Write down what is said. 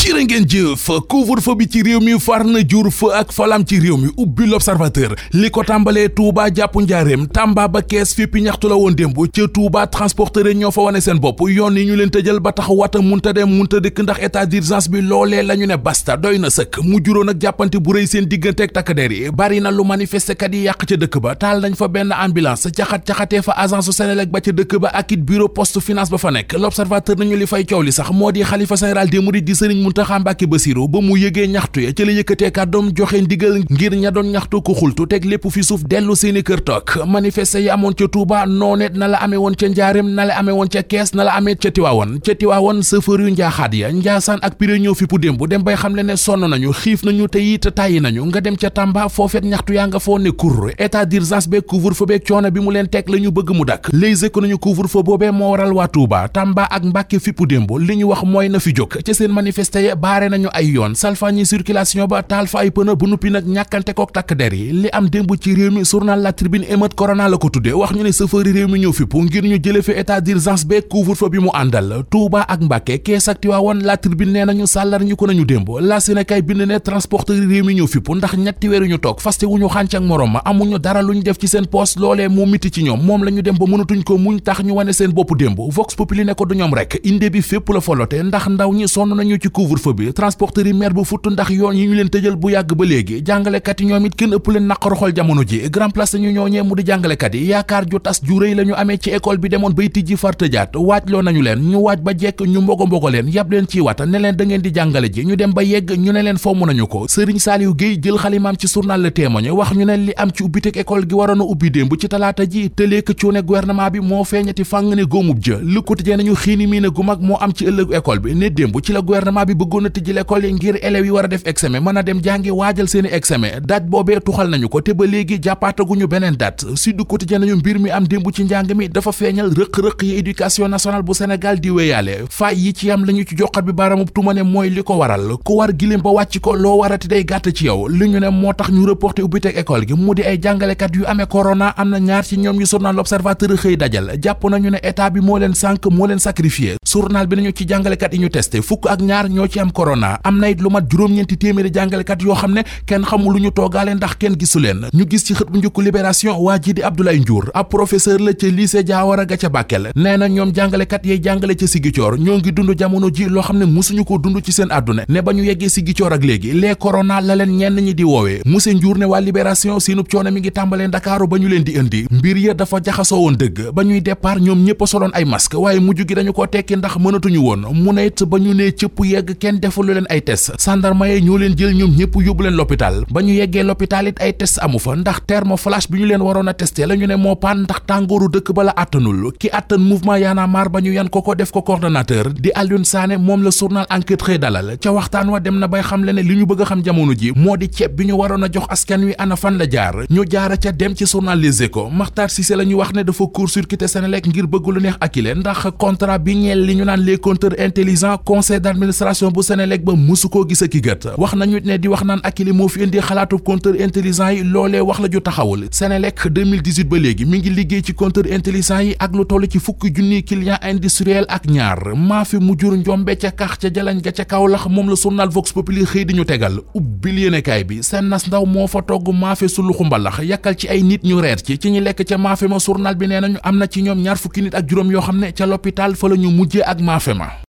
cirë ngeen jëf couvre-feu bi ci réew mi far na jur fa ak falam ci réew mi ubbi l'observateur li ko tàmbalee Touba jàpp Njaaréem Tamba ba Kees fippi ñaxtu la woon démb ca Touba transporteur ñoo fa wane seen bopp yoon yi ñu leen tëjal ba tax wata munta dem munta dëkk ndax état d'urgence bi loolee la ñu ne basta doy na sëkk mu juróon ak jàppante bu rëy seen digganteeg takk der yi bari na lu manifester kat yi yàq ca dëkk ba taal nañ fa benn ambulance caxat-caxatee fa agence Senelec ba ca dëkk ba ak it bureau poste finance ba fa nekk l'observateur nañu li fay coow li sax moo di xalifa général des mourides di Serigne Mountakha Mbacké Bassirou ba mu yëgee ñaxtu ya ci la yëkkatee kàddoom joxe ndigal ngir ña doon ñaxtu ko xultu teg lépp fi suuf dellu seeni kër toog manifester yi amoon ca Touba noonet na la amee woon ca Njaaréem na la amee woon ca Kees na la amee ca Tiwaawoon chauffeur yu njaaxaat ya Njaasaan ak Piré ñëw fi pu démb dem bay xam le ne sonn nañu xiif nañu te it tàyyi nañu nga dem ca Tamba foofeet ñaxtu yaa nga foo ne kur état d'urgence beeg couvre-feu beeg coono bi mu leen teg la ñu bëgg mu dakk Les Échos nañu couvre-feu boobee moo waral waa Touba Tamba ak Mbàkke fi pu démb li ñu wax mooy na fi jóg ca seen manifester ya baare nañu ay yoon salfañi circulation ba taal fa ay pëna bu nuppi nag ñàkkante kook takk der yi li am démb ci réew mi journal La Tribune émeute corona la ko tudde wax ñu ne chauffeur yi réew mi ñëw fippu ngir ñu jële fi état d'urgence beeg couvre-feu bi mu àndal Touba ak Mbàkke Kees ak Tiwaawoon La Tribune nee nañu sàllar ñu ko nañu démb la Sénégal bind ne transporteur yi réew mi ñëw fippu ndax ñetti weer ñu toog faste wuñu xànc ak morom ma amuñu dara lu ñu def ci seen poste loolee moo miti ci ñoom moom la ñu dem ba mënatuñ ko muñ tax ñu wane seen bopp démb Vox Populi ne ko du ñoom rek inde bi fépp la folote ndax ndaw ñi sonn nañu ci couvre-feu bi transporteur yi mer bu futt ndax yoon yi ñu leen tëjal bu yàgg ba léegi jàngalekat yi ñoom it kenn ëpp leen naqaru xol jamono ji grand place ñu ñooñee mu di jàngalekat yi yaakaar ju tas ju rëy la ñu amee ci école bi demoon bay tijji far tëjaat waaj loo nañu leen ñu waaj ba jekk ñu mbogo leen yab leen ci wata ne leen da ngeen di jàngale ji ñu dem ba yegg ñu ne leen fomm nañu ko Serigne Saliou Gueye jël xalimaam ci journal Le Témoin wax ñu ne li am ci ubbiteg école gi waroon a ubbi démb ci talaata ji tëleek cuune gouvernement bi moo feeñati fàng ne góomub jë Le Quotidien nañu xiini mii ne gu mag moo am ci ëllëgu école bi ne démb ci la gouvernement bi bëggoon a tijji l'école yi ngir élèves yi war a def examen mën a dem jàngi waajal seeni examen date boobee tuxal nañu ko te ba léegi jàppaataguñu beneen date Sud Quotidien nañu mbir mi am démb ci njàng mi dafa feeñal rëq-rëq yi éducation nationale bu Sénégal di wéyaale faay yi ci am lañu ci joxat bi baramub tuma ne mooy li ko waral ku war gilim ba wàcc ko loo warati day gàtt ci yow li ñu ne moo tax ñu reporté ubbiteg école gi mu di ay jàngalekat yu amee corona am na ñaar ci ñoom ñu journal L'Observateur xëy dajal jàpp nañu ne état bi moo leen sànk moo leen sacrifié journal bi nañu ci jàngalekat yi ñu testé fukk ak ñaar ñoo ci am corona am na it lu mat juróom-ñeenti téeméeri jàngalekat yoo xam ne kenn xamul lu ñu toogaale ndax kenn gisu leen ñu gis ci xët bu njëkk Libération waa ji di Abdoulaye Ndiour ab professeur la ca lycée Diawara ga ca Bakel nee na ñoom jàngalekat yay jàngale ca Ziguinchor ñoo ngi dund jamono ji loo xam ne musuñu ko dund ci seen àdduna ne ba ñu yeggee Ziguinchor ak léegi les corona la leen ñenn ñi di woowee monsieur Ndiour ne waa Libération seenub coono mi ngi tàmbalee Ndakaaru ba ñu leen di indi mbir ya dafa jaxasoo woon dëgg ba ñuy départ ñoom ñëpp a soloon ay masque waaye mujj gi dañu ko tekki ndax mënatuñu woon mu ne it ba ñu nee cëpp yegg kenn defalu leen ay test sandarma yi ñoo leen jël ñoom ñëpp yóbbu leen l'hôpital ba ñu yeggee l'hôpital it ay test amu fa ndax thermoflash bi ñu leen waroon a testé la ñu ne moo paan ndax tàngooru dëkk ba la àttanul ki àttan mouvement Y'en a marre ba ñu yan ko def ko coordonnateur di Alioune Sané moom la journal Enquête xëy dalal ca waxtaan wa dem na bay xam le ne li ñu bëgg a xam jamono ji moo di ceeb bi ñu waroon a jox askan wi ana fan la jaar ñu jaara ca dem ci journal Les Échos Makhtar Cissé la ñu wax ne dafa court-circuité Senelec ngir bëgg lu neex akile ndax contrat bi ñeel li ñu naan les compteurs intelligents conseil d'administration bu Senelec ba musu koo gis ak i gët wax nañu ne di wax naan akile moo fi indi xalaatu compteur intelligent yi loolee wax la ju taxawul Senelec 2018 ba léegi mi ngi liggéey ci compteur intelligent yi ak lu toll ci fukki junniy client industriel ak ñaar maa fi mu jur njombe ca kax ca jalañ ga ca Kaolack moom la journal Vox Populi xëy di ñu tegal ubbil yéenekaay bi seen nas ndaw moo fa togg maafe suluxu mbalax yàkkal ci ay nit ñu reer ci ñi lekk ca maafe ma journal bi nee nañu am na ci ñoom ñaar fukki nit ak juróom yoo xam ne ca l'hôpital fa la ñu mujjee ak maafe ma